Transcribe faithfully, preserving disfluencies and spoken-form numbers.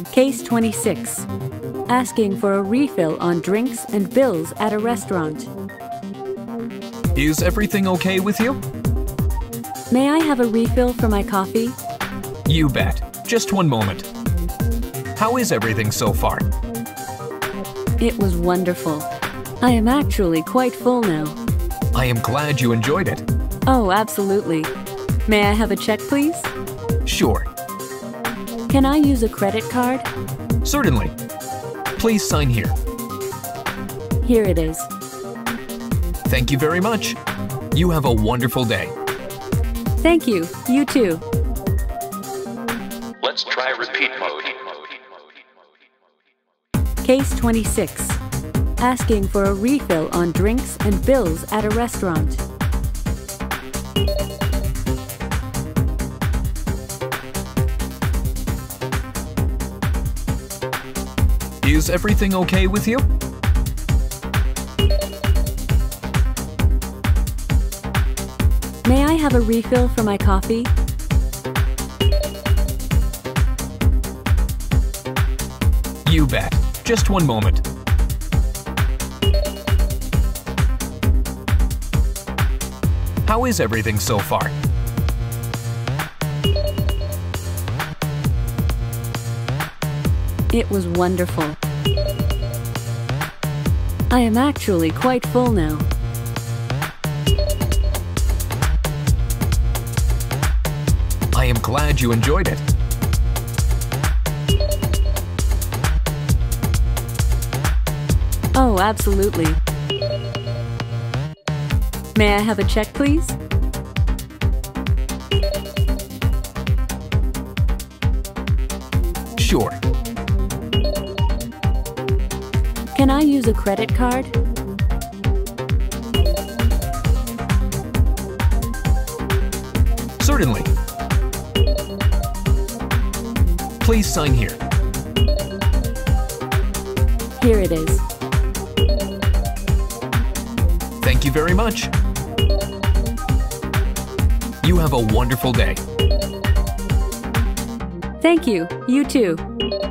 Case twenty-six. Asking for a refill on drinks and bills at a restaurant. Is everything okay with you? May I have a refill for my coffee? You bet. Just one moment. How is everything so far? It was wonderful. I am actually quite full now. I am glad you enjoyed it. Oh, absolutely. May I have a check, please? Sure. Can I use a credit card? Certainly. Please sign here. Here it is. Thank you very much. You have a wonderful day. Thank you. You too. Let's try repeat mode. Case twenty-six. Asking for a refill on drinks and bills at a restaurant. Is everything okay with you? May I have a refill for my coffee? You bet. Just one moment. How is everything so far? It was wonderful. I am actually quite full now. I am glad you enjoyed it. Oh, absolutely. May I have a check, please? Sure. Can I use a credit card? Certainly. Please sign here. Here it is. Thank you very much. You have a wonderful day. Thank you. You too.